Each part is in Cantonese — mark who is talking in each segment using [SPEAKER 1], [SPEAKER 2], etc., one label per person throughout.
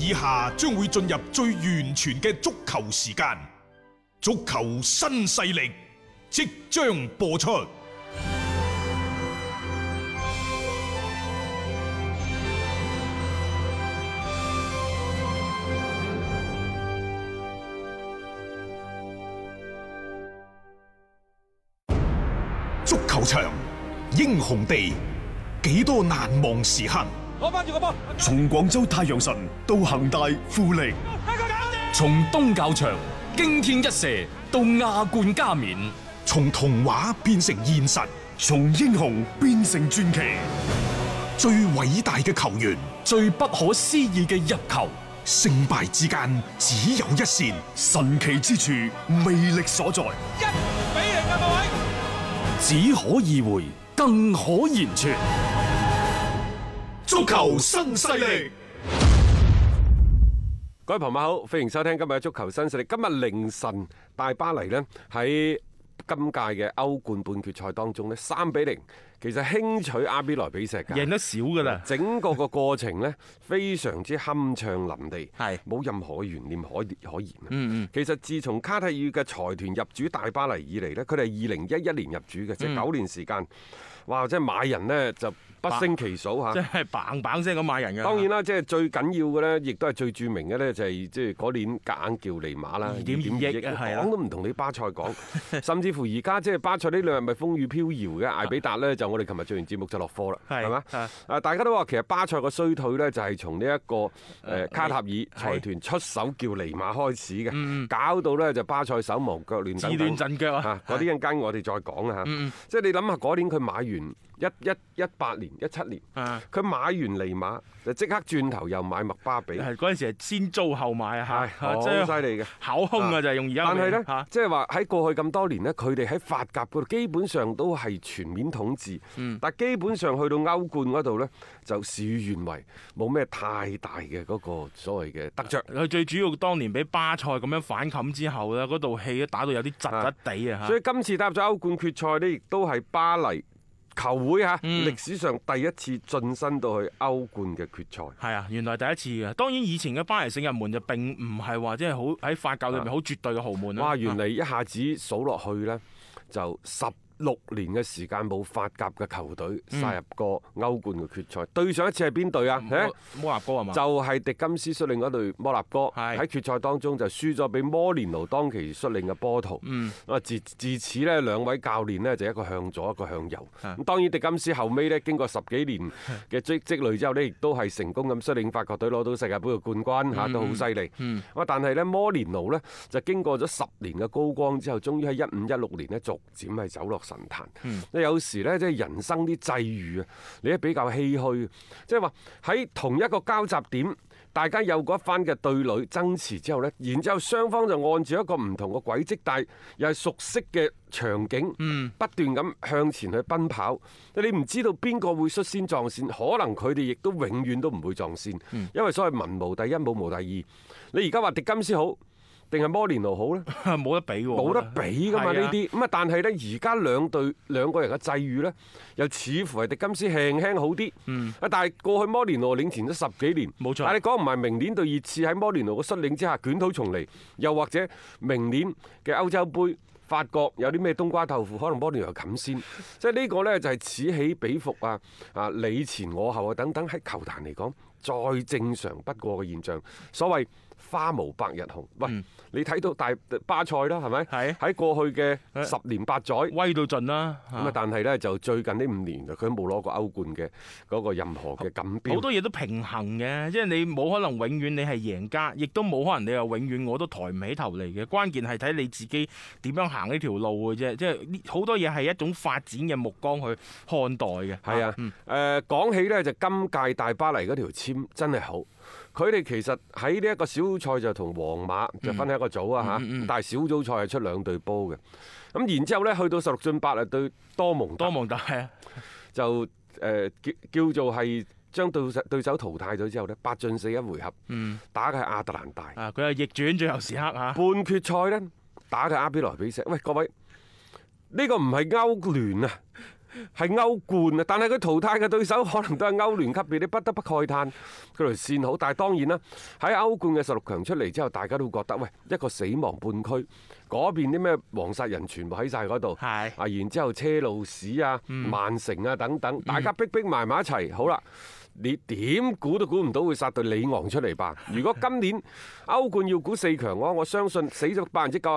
[SPEAKER 1] 以下將會進入最完全嘅足球時間，足球新勢力即將播出。足球場，英雄地，幾多難忘時刻。
[SPEAKER 2] 攞翻住個波，
[SPEAKER 3] 從廣州太陽神到恒大富力，
[SPEAKER 4] 從東較場驚天一射到亞冠加冕，
[SPEAKER 1] 從童話變成現實，
[SPEAKER 3] 從英雄變成傳奇。
[SPEAKER 1] 最偉大嘅球員，
[SPEAKER 4] 最不可思議嘅入球，
[SPEAKER 1] 勝敗之間只有一線，
[SPEAKER 3] 神奇之處魅力所在。
[SPEAKER 2] 1-0啊各位！
[SPEAKER 4] 只可意會，更可言傳。
[SPEAKER 1] 足球新勢力，
[SPEAKER 5] 各位朋友好，歡迎收聽今日嘅足球新勢力。今日凌晨，大巴黎呢喺今屆嘅歐冠半決賽當中呢，3-0，其實輕取阿比萊比錫㗎，
[SPEAKER 6] 贏得少㗎啦。
[SPEAKER 5] 整個個過程呢，非常之酣暢淋漓，
[SPEAKER 6] 係
[SPEAKER 5] 冇任何懸念可言。其實自從卡塔爾嘅財團入主大巴黎以嚟呢，佢哋係2011年入主嘅，即係9年時間。哇！即係買人呢，就不勝其數嚇，
[SPEAKER 6] 即係砰砰聲咁買人㗎。
[SPEAKER 5] 當然啦，即係最緊要嘅呢，亦都係最著名嘅呢，就係即係嗰年夾硬叫尼馬啦
[SPEAKER 6] 2.2億啊，
[SPEAKER 5] 講都唔同你巴塞講，甚至乎而家即係巴塞呢兩日咪風雨飄搖嘅，艾比達呢，就我哋琴日做完節目就落課啦，係嘛？大家都話其實巴塞個衰退呢，就係從呢一個卡塔爾財團出手叫尼馬開始嘅，搞到呢就巴塞手忙腳亂等等，
[SPEAKER 6] 自亂陣腳啊！
[SPEAKER 5] 嗰啲陣間我哋再講啊嚇，即係你諗下嗰年佢買完。18年、17年，佢買完尼馬就即刻轉頭又買麥巴比。
[SPEAKER 6] 係嗰陣時係先租後買啊！
[SPEAKER 5] 係好犀利嘅，
[SPEAKER 6] 考空啊就係用而家。
[SPEAKER 5] 但係呢，即係話喺過去咁多年呢，佢哋喺法甲嗰度基本上都係全面統治。但基本上去到歐冠嗰度呢，就事與願違，冇咩太大嘅嗰個所謂嘅得着。
[SPEAKER 6] 佢最主要當年俾巴塞咁樣反冚之後呢，嗰道氣都打到有啲窒窒地啊！
[SPEAKER 5] 所以今次打入咗歐冠決賽呢，亦都係巴黎球會嚇歷史上第一次晉身到去歐冠嘅決賽。
[SPEAKER 6] 係啊，原來第一次嘅。當然以前嘅巴黎聖日門就並唔係話即係好喺法甲裏面好絕對嘅豪門啦。
[SPEAKER 5] 哇！原嚟一下子數落去呢，就16年嘅時間冇法甲嘅球隊殺入過歐冠嘅決賽。對上一次係邊隊啊？
[SPEAKER 6] 摩納哥係嘛？
[SPEAKER 5] 就係迪金斯率領嗰隊摩納哥，喺決賽當中就輸咗俾摩連奴當其率領嘅波圖。自此呢，兩位教練呢，就一個向左一個向右。咁當然迪金斯後尾呢，經過10幾年嘅積累之後呢，亦都係成功咁率領法國隊攞到世界盃嘅冠軍嚇，都好犀利。但係呢，摩連奴呢，就經過咗10年嘅高光之後，終於喺15-16年呢，逐漸係走落神壇。有時呢，即係人生啲際遇啊，你都比較唏噓。即係話喺同一個交集點，大家有過一番嘅對壘爭持之後呢，然之後雙方就按住一個唔同嘅軌跡，但係又係熟悉嘅場景，不斷咁向前去奔跑。你唔知道邊個會率先撞線，可能佢哋亦都永遠都唔會撞線，因為所謂文無第一，武無第二。你而家話迪金斯好定係摩連奴好呢？
[SPEAKER 6] 冇得比喎，
[SPEAKER 5] 冇得比噶嘛呢啲。咁啊，但係呢，而家兩個人嘅際遇呢，又似乎係迪金斯輕輕好啲。但係過去摩連奴領前咗10幾年，
[SPEAKER 6] 冇錯。
[SPEAKER 5] 但係你講唔埋明年對熱刺喺摩連奴嘅率領之下捲土重嚟，又或者明年嘅歐洲杯法國有啲咩冬瓜豆腐，可能摩連奴又冚先。即係呢個呢，就係此起彼伏啊！你前我後啊等等，喺球壇嚟講再正常不過嘅現象。所謂花無百日紅。喂，你睇到大巴塞啦，係咪？係喺過去嘅10年8載
[SPEAKER 6] 威到盡啦。
[SPEAKER 5] 咁啊，但係呢，就最近呢5年佢都冇攞過歐冠嘅嗰個任何嘅錦標。
[SPEAKER 6] 好多嘢都平衡嘅，即係你冇可能永遠你係贏家，亦都冇可能你又永遠我都抬唔起頭嚟嘅。關鍵係睇你自己點樣行呢條路嘅啫。即係好多嘢係一種發展嘅目光去看待嘅。
[SPEAKER 5] 係啊，講起呢，就今屆大巴黎嗰條籤真係好。佢哋其實喺呢一個小組賽就同皇馬就分喺一個組啊嚇，但係小組賽係出2隊波嘅。咁然之後呢，去到16進8啊對多蒙特就叫做係將對手淘汰咗之後呢，8進4一回合，打嘅係亞特蘭大。
[SPEAKER 6] 佢係逆轉最後時刻嚇。
[SPEAKER 5] 半決賽呢，打嘅阿比萊比錫。喂，各位，呢個唔係歐聯啊！ 係歐冠啊！但係佢淘汰嘅對手可能都係歐聯級別，你不得不慨嘆佢條線好。但係當然啦，喺歐冠嘅16強出嚟之後，大家都會覺得喂，一個死亡半區，嗰邊啲咩黃殺人全部喺晒嗰度，啊，然之後車路士啊、曼城啊等等，大家逼埋一齊，好啦。你點估都估唔到會殺對里昂出嚟吧？如果今年歐冠要估4強嘅話，我相信死咗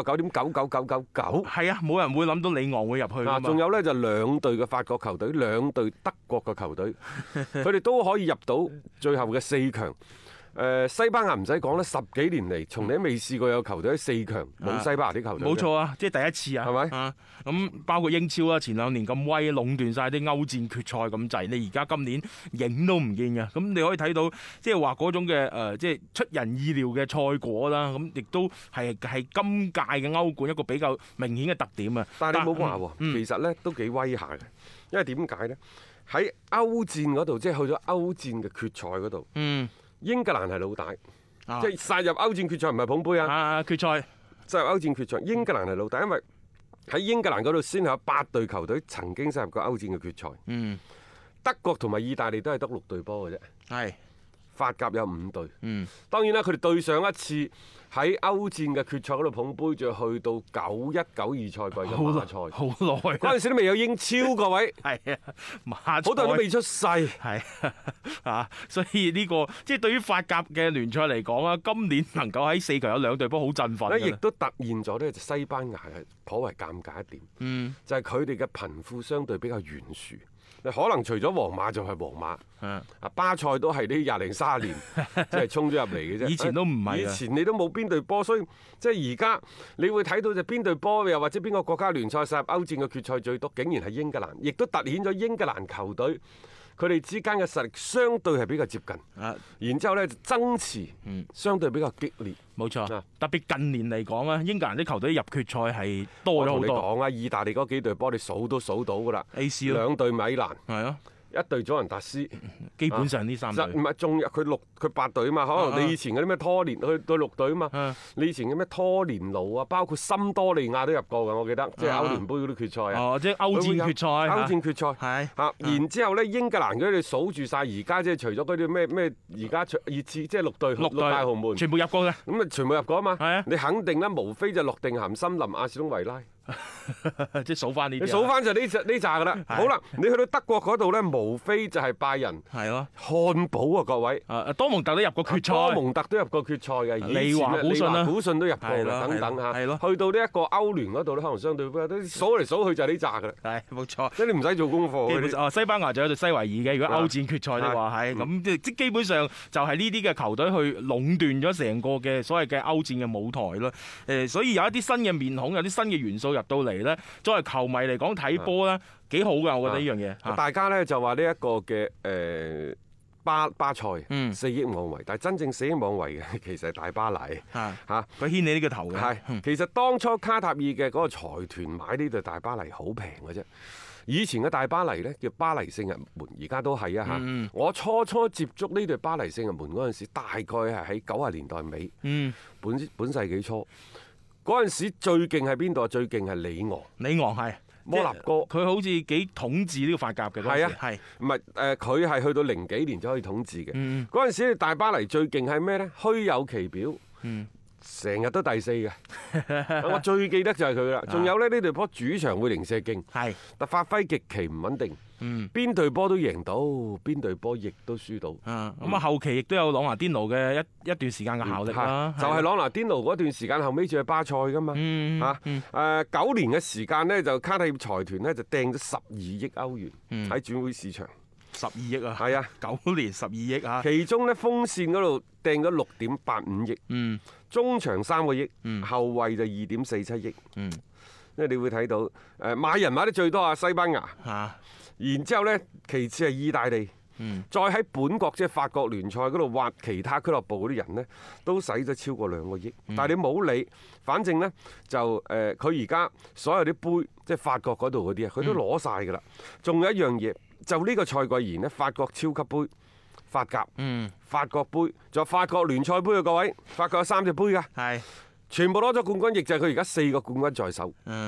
[SPEAKER 5] 99.99999%。
[SPEAKER 6] 係啊，冇人會諗到里昂會入去㗎嘛。
[SPEAKER 5] 仲有呢，就2隊嘅法國球隊、2隊德國嘅球隊，佢哋都可以入到最後嘅4強。西班牙唔使講啦，10幾年嚟從嚟都未試過有球隊喺4強冇西班牙啲球隊。
[SPEAKER 6] 冇錯啊，即係第一次啊，
[SPEAKER 5] 係咪？
[SPEAKER 6] 咁包括英超啊，前2年咁威，壟斷晒啲歐戰決賽咁滯，你而家今年影都唔見嘅。咁你可以睇到，即係話嗰種嘅即係出人意料嘅賽果啦。咁亦都係今屆嘅歐冠一個比較明顯嘅特點啊。
[SPEAKER 5] 但係你冇話喎，其實呢都幾威下嘅，因為點解呢？喺歐戰嗰度，即係去咗歐戰嘅決賽嗰度。英格蘭係老大，即係殺入歐戰決賽唔係捧杯啊！
[SPEAKER 6] 決賽
[SPEAKER 5] 殺入歐戰決賽，英格蘭係老大，因為喺英格蘭嗰度先有8隊球隊曾經殺入過歐戰嘅決賽。德國同埋意大利都係得6隊波嘅啫。係。法甲有5隊。當然啦，佢哋對上一次喺歐戰嘅決賽嗰度捧杯，就去到91-92賽季嘅馬賽。好耐。嗰陣時都未有英超，各位。係啊，馬賽。好多人都未出世。係
[SPEAKER 6] 啊，所以呢個即係對於法甲嘅聯賽嚟講啊，今年能夠喺4強有2隊波，好振奮。
[SPEAKER 5] 亦都突現咗呢，就西班牙係頗為尷尬一點。就係佢哋嘅貧富相對比較懸殊。可能除咗皇馬就係皇馬，巴塞都係啲20零30年即係衝咗入嚟嘅啫。以前都唔係，以前你都冇邊隊波，所以即係而家你會睇到就邊隊波，又或者邊個國家聯賽殺入歐戰嘅決賽最多，竟然係英格蘭，亦都突顯咗英格蘭球隊佢哋之間嘅實力相對係比較接近。然之後呢，爭持相對比較激烈。
[SPEAKER 6] 冇錯，特別近年嚟講啊，英格蘭啲球隊入決賽係多咗好多。我同你講啊，
[SPEAKER 5] 意大利嗰幾隊波你數都數到㗎啦。AC 2隊米蘭。係啊。1隊祖雲達斯，
[SPEAKER 6] 基本上呢3隊。
[SPEAKER 5] 唔係，仲有佢8隊啊嘛，可能你以前嗰啲咩拖連去到6隊啊嘛。你以前嘅咩拖連奴啊，包括森多利亞都入過㗎，我記得，即係歐聯杯嗰啲決賽啊。
[SPEAKER 6] 即係歐戰決賽。
[SPEAKER 5] 歐戰決賽。係。然之後呢，英格蘭嗰啲你數住晒，而家即係除咗嗰啲咩而家熱刺，即係6隊6大豪門，
[SPEAKER 6] 全部入過嘅。
[SPEAKER 5] 咁啊，全部入過啊嘛。係啊。你肯定啦，無非就諾定咸森林、阿士東維拉。
[SPEAKER 6] 即係數翻呢啲，
[SPEAKER 5] 你數翻就呢扎噶啦。好啦，你去到德國嗰度咧，無非就係拜仁，係咯，漢堡啊，各位，
[SPEAKER 6] 多蒙特都入過決賽，
[SPEAKER 5] 多蒙特都入過決賽嘅，
[SPEAKER 6] 利華古遜
[SPEAKER 5] 都入過啦，等等嚇，去到呢一個歐聯嗰度咧，可能相對都數嚟數去就係呢扎噶啦，係冇錯，即係你唔使做功課。
[SPEAKER 6] 西班牙就有隊西維爾嘅，如果歐戰決賽的話係咁，即基本上就係呢啲嘅球隊去壟斷咗成個嘅所謂嘅歐戰嘅舞台咯。所以有一啲新嘅面孔，有啲新嘅元素入到嚟咧，作為球迷嚟講睇波咧幾好㗎，我覺得呢樣嘢。
[SPEAKER 5] 大家咧就話呢一個嘅巴塞4億妄為，但係真正4億妄為嘅其實係大巴黎嚇，
[SPEAKER 6] 佢牽你呢個頭嘅。
[SPEAKER 5] 係其實當初卡塔爾嘅嗰個財團買呢隊大巴黎好平嘅啫。以前嘅大巴黎呢，叫巴黎聖日門，而家都係啊嚇。我初接觸呢隊巴黎聖日門嗰陣時，大概係喺90年代尾，本世紀初嗰陣時最勁係邊度啊？最勁係里昂。里昂係摩納哥，
[SPEAKER 6] 佢好似幾統治呢個法甲嘅。
[SPEAKER 5] 係啊，係唔係佢係去到00幾年就可以統治嘅。嗰陣時大巴黎最勁係咩呢？虛有其表。成日都第4嘅，我最記得就係佢啦。仲有咧，呢隊波主場會零舍勁，但發揮極其唔穩定。邊隊波都贏到，邊隊波亦都輸到。
[SPEAKER 6] 咁啊，後期亦都有朗拿甸奴嘅一段時間嘅效力啦。
[SPEAKER 5] 就係朗拿甸奴嗰段時間後尾住喺巴塞噶嘛。9年嘅時間呢，就卡塔爾財團呢，就掟咗12億歐元喺轉會市場。
[SPEAKER 6] 12億啊！
[SPEAKER 5] 係啊
[SPEAKER 6] ，9年12億啊！
[SPEAKER 5] 其中咧鋒線嗰度掟咗6.85億，中場3個億，後衞就2.47億。因為你會睇到買人買得最多啊，西班牙。然之後咧，其次係意大利。再喺本國即係法國聯賽嗰度挖其他俱樂部嗰啲人呢，都使咗超過2個億。但係你冇理，反正呢，就佢而家所有啲杯，即係法國嗰度嗰啲啊，佢都攞晒㗎啦。仲有一樣嘢，就呢個賽季而言呢，法國超級杯、法甲、法國杯，仲有法國聯賽杯啊，各位，法國有3隻杯㗎，全部攞咗冠軍，亦就係佢而家4個冠軍在手。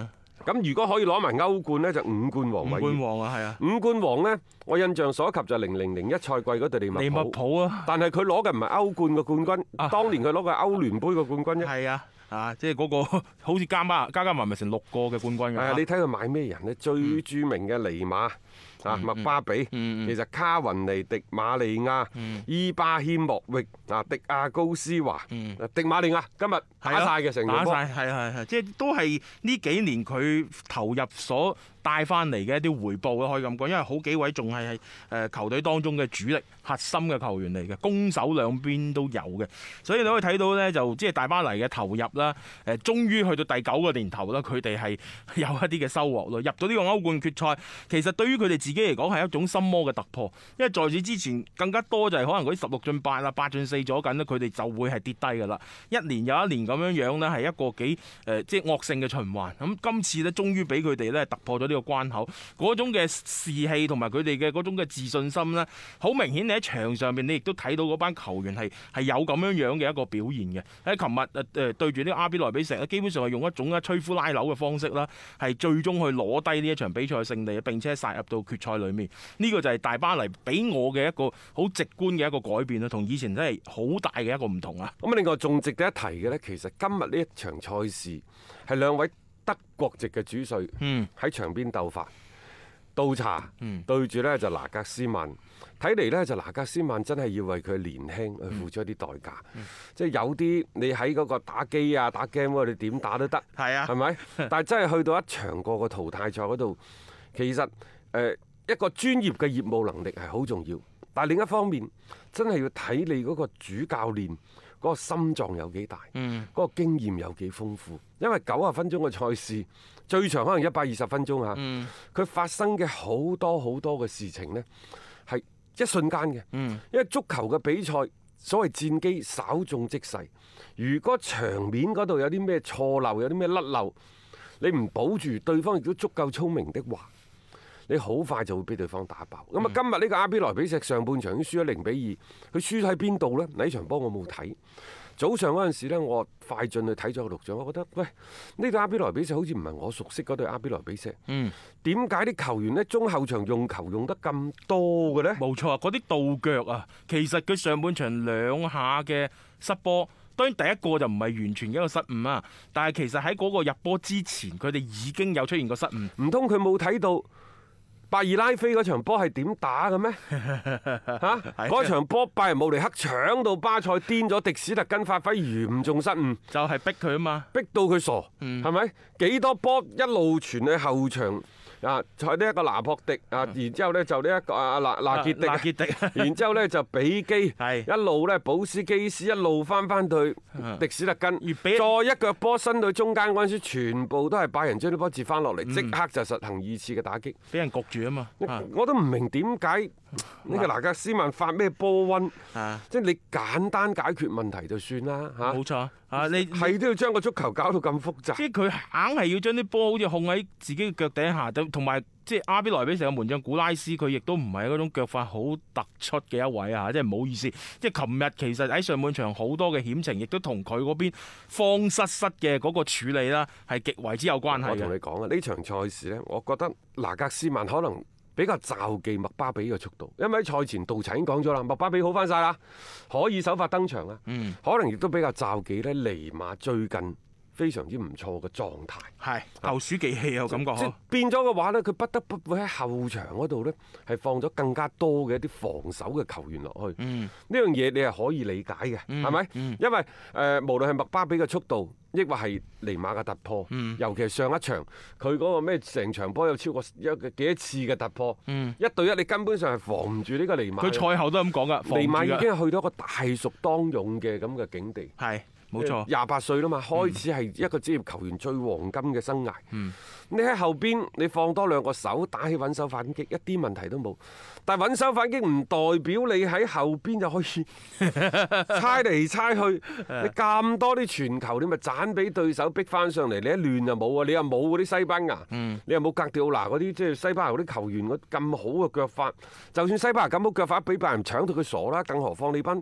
[SPEAKER 5] 咁如果可以攞埋歐冠呢，就5冠王位。
[SPEAKER 6] 5冠王啊，係啊。
[SPEAKER 5] 5冠王呢，我印象所及就0001賽季嗰隊利物浦啊。但係佢攞嘅唔係歐冠嘅冠軍，當年佢攞嘅歐聯杯嘅冠軍啫。
[SPEAKER 6] 係啊，即係嗰個好似加埋咪成6個嘅冠軍㗎。
[SPEAKER 5] 係啊，你睇佢買咩人呢？最著名嘅尼馬。麥巴比，其實卡雲尼、迪馬利亞、伊巴謙莫域、迪亞高斯華、迪馬利亞今日打晒嘅成個波，
[SPEAKER 6] 係，即係都係呢幾年佢投入所帶翻嚟嘅一啲回報咯，可以咁講，因為好幾位仲係球隊當中嘅主力核心嘅球員嚟嘅，攻守兩邊都有嘅，所以你可以睇到呢，就即係大巴黎嘅投入啦，終於去到第9個年頭啦，佢哋係有一啲嘅收穫咯，入到呢個歐冠決賽，其實對於佢哋自己嚟講係一種心魔嘅突破，因為在此之前更加多就係可能嗰啲16進8啊、8進4咗緊咧，佢哋就會係跌低㗎啦。一年又一年咁樣樣咧，係一個幾即係惡性嘅循環。咁今次咧，終於俾佢哋咧突破咗呢個關口，嗰種嘅士氣同埋佢哋嘅嗰種嘅自信心咧，好明顯你喺場上邊你亦都睇到嗰班球員係有咁樣樣嘅一個表現嘅。喺琴日對住呢個阿比萊比錫咧，基本上係用一種吹呼拉扭嘅方式啦，係最終去攞低呢一場比賽嘅勝利，並且殺入到決賽裏面。呢個就係大巴黎俾我嘅一個好直觀嘅一個改變啦，同以前真係好大嘅一個唔同啊！
[SPEAKER 5] 咁另外仲值得一提嘅呢，其實今日呢一場賽事係2位德國籍嘅主帥喺場邊鬥法，倒茶對住呢就拿格斯曼，睇嚟呢就拿格斯曼真係要為佢年輕去付出一啲代價，即係有啲你喺嗰個打機啊打 game 嗰度你點打都得，係咪？但係真係去到一場過個淘汰賽嗰度，其實一個專業嘅業務能力係好重要，但係另一方面真係要睇你嗰個主教練嗰個心臟有幾大，嗰個經驗有幾豐富。因為90分鐘嘅賽事，最長可能120分鐘嚇，佢發生嘅好多嘅事情呢係一瞬間嘅。因為足球嘅比賽，所謂戰機稍縱即逝，如果場面嗰度有啲咩錯漏，有啲咩甩漏，你唔保住，對方亦都足夠聰明的話，你好快就會俾對方打爆。咁啊，今日呢個阿比萊比錫上半場已經輸咗0-2，佢輸喺邊度呢？呢場波我冇睇。早上嗰陣時咧，我快進去睇咗個錄像，我覺得喂，呢隊阿比萊比錫好似唔係我熟悉嗰隊阿比萊比錫。點解啲球員呢中後場用球用得咁多嘅呢？
[SPEAKER 6] 冇錯啊，嗰啲倒腳啊，其實佢上半場2下嘅失波，當然第一個就唔係完全嘅一個失誤啊，但係其實喺嗰個入波之前，佢哋已經有出現過失誤。
[SPEAKER 5] 唔通佢冇睇到拜爾拉菲嗰場波係點打嘅咩？嗰場波拜仁慕尼黑搶到巴塞癲咗，迪史特根發揮嚴重失誤，
[SPEAKER 6] 就係逼佢啊嘛，
[SPEAKER 5] 逼到佢傻，係咪？幾多波一路傳去後場啊！喺呢一個拿破迪啊，然之後呢就呢一個納傑迪，然之後呢就比基，一路呢保斯基斯一路翻去迪史特根，再一腳波伸到中間嗰陣時，全部都係拜仁將啲波截翻落嚟，即刻就實行2次嘅打擊，
[SPEAKER 6] 俾人焗住啊嘛！
[SPEAKER 5] 我都唔明點解呢個拿格斯曼發咩波瘟，即係你簡單解決問題就算啦嚇。
[SPEAKER 6] 冇錯啊，你
[SPEAKER 5] 係都要將個足球搞到咁複雜。
[SPEAKER 6] 即係佢硬係要將啲波好似控喺自己嘅腳底下，同埋即係阿比萊比錫嘅門將古拉斯，佢亦都唔係嗰種腳法好突出嘅一位啊！即係唔好意思，即係琴日其實喺上半場好多嘅險情，亦都同佢嗰邊慌失嘅嗰個處理啦，係極為之有關係嘅。
[SPEAKER 5] 我同你講啊，呢場賽事呢，我覺得拿格斯曼可能比較罩忌麥巴比嘅速度，因為喺賽前杜查已經講咗啦，麥巴比好翻晒啦，可以首發登場啦。可能亦都比較罩忌呢尼馬最近非常之唔錯嘅狀態，係
[SPEAKER 6] 投鼠忌器啊，感覺
[SPEAKER 5] 即變咗嘅話呢，佢不得不會喺後場嗰度呢係放咗更加多嘅一啲防守嘅球員落去。呢樣嘢你係可以理解嘅，係咪？因為無論係麥巴比嘅速度，抑或係尼馬嘅突破，尤其係上一場佢嗰個咩成場波有超過幾多次嘅突破，1對1你根本上係防唔住呢個尼馬。
[SPEAKER 6] 佢賽後都咁講噶，
[SPEAKER 5] 尼馬已經去到一個大熟當勇嘅咁嘅境地。
[SPEAKER 6] 係。冇錯
[SPEAKER 5] ，28歲啦嘛，開始係一個職業球員最黃金嘅生涯。你喺後邊，你放多2個手打起穩手反擊，一啲問題都冇。但係穩手反擊唔代表你喺後邊就可以猜嚟猜去。你咁多啲傳球，你咪斬俾對手逼翻上嚟。你一亂就冇啊！你又冇嗰啲西班牙，你又冇格迪奧拿嗰啲即係西班牙嗰啲球員咁好嘅腳法。就算西班牙咁好腳法，俾拜仁搶到佢傻啦，更何況你班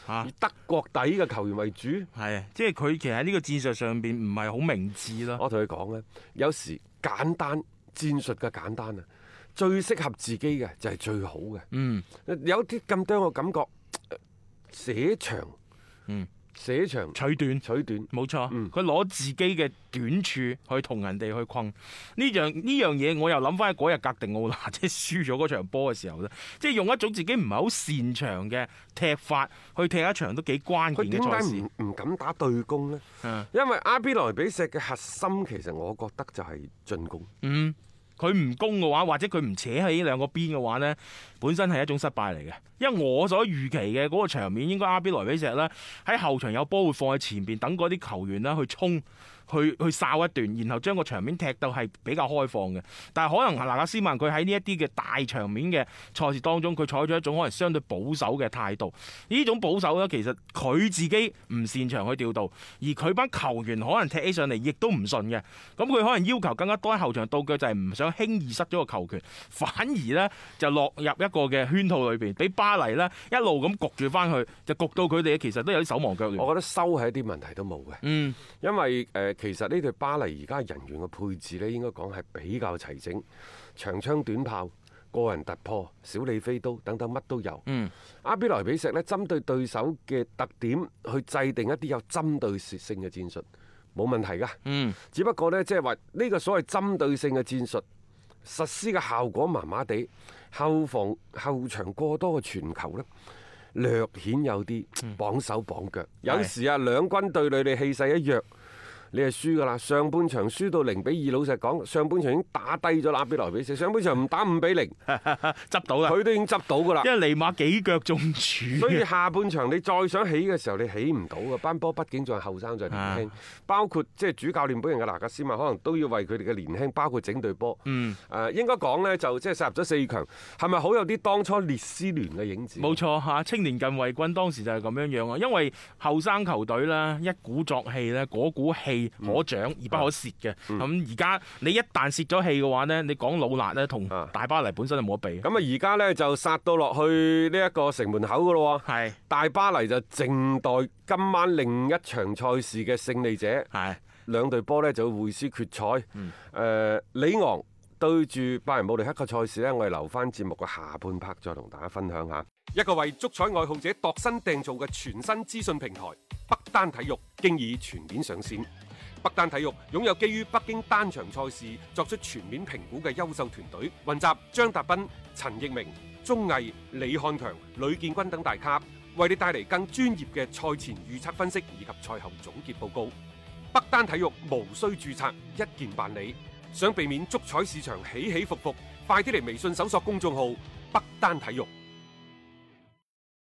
[SPEAKER 5] 以德國底嘅球員為主，
[SPEAKER 6] 係即係佢其實喺呢個戰術上邊唔係好明智咯。
[SPEAKER 5] 我同你講咧，有時簡單戰術嘅簡單啊，最適合自己嘅就係最好嘅。有啲咁多嘅感覺，寫長，寫長
[SPEAKER 6] 取短，冇錯。佢攞自己嘅短處去同人哋去困呢樣嘢，我又諗翻喺嗰日格迪奧拿即係輸咗嗰場波嘅時候咧，即係用一種自己唔係好擅長嘅踢法去踢一場都幾關鍵嘅賽事。
[SPEAKER 5] 佢點解唔敢打對攻呢？因為阿比萊比錫嘅核心其實我覺得就係進攻。
[SPEAKER 6] 佢唔攻嘅話，或者佢唔扯起呢兩個邊嘅話呢，本身係一種失敗嚟嘅。因為我所預期嘅嗰個場面，應該阿比萊比錫呢喺後場有波會放喺前邊，等嗰啲球員啦去衝。去哨一段，然後將個場面踢到係比較開放嘅。但係可能拿格斯曼佢喺呢一啲嘅大場面嘅賽事當中，佢採取一種可能相對保守嘅態度。呢種保守呢，其實佢自己唔擅長去調度，而佢班球員可能踢起上嚟亦都唔順嘅。咁佢可能要求更加多喺後場到腳，就係唔想輕易失咗個球權，反而呢就落入一個嘅圈套裏邊，俾巴黎呢一路咁焗住翻去，就焗到佢哋其實都有啲手忙腳亂。
[SPEAKER 5] 我覺得收係一啲問題都冇嘅，因為其實呢隊巴黎而家人員嘅配置咧，應該講係比較齊整，長槍短炮、個人突破、小李飛刀等等乜都有。阿比萊比錫咧，針對對手嘅特點去制定一啲有針對性嘅戰術，冇問題㗎。只不過呢，即係話呢個所謂針對性嘅戰術實施嘅效果麻麻地，後場過多嘅傳球呢，略顯有啲綁手綁腳。有時啊，兩軍對壘，你氣勢一弱，你係輸㗎啦！上半場輸到0-2，老實講，上半場已經打低咗阿比萊比錫。上半場唔打5-0，
[SPEAKER 6] 執到啦，
[SPEAKER 5] 佢都已經執到㗎啦。
[SPEAKER 6] 因為尼馬幾腳中柱，
[SPEAKER 5] 所以下半場你再想起嘅時候，你起唔到㗎。班波畢竟仲係後生，仲係年輕。包括即係主教練本人嘅拿格斯曼，可能都要為佢哋嘅年輕，包括整隊波。應該講呢，就即係殺入咗4強，係咪好有啲當初列斯聯嘅影子？
[SPEAKER 6] 冇錯嚇，青年近衛軍當時就係咁樣啊。因為後生球隊啦，一鼓作氣咧，嗰股氣可長而不可泄嘅。咁而家你一旦泄咗氣嘅話呢，你講老辣呢，同大巴黎本身就冇得比。
[SPEAKER 5] 咁啊，而家呢，就殺到落去呢一個城門口噶咯。
[SPEAKER 6] 係
[SPEAKER 5] 大巴黎就靜待今晚另一場賽事嘅勝利者。係兩隊波呢，就會師決賽。里昂對住拜仁慕尼黑嘅賽事呢，我哋留翻節目嘅下半 part 再同大家分享下。一個為足彩愛好者度身訂造嘅全新資訊平台北單體育，經已全面上線。北單體育擁有基於北京單場賽事作出全面評估嘅優秀團隊，雲集張達斌、陳奕明、鐘毅、李漢強、呂建軍等大咖，為你帶嚟更專業嘅賽前預測分析以及賽後總結報告。北單體育無需註冊，一鍵辦理。想避免足彩市場起起伏伏，快啲嚟微信搜索公眾號北單體育。